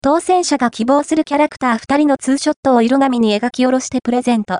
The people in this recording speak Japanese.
当選者が希望するキャラクター2人のツーショットを色紙に描き下ろしてプレゼント。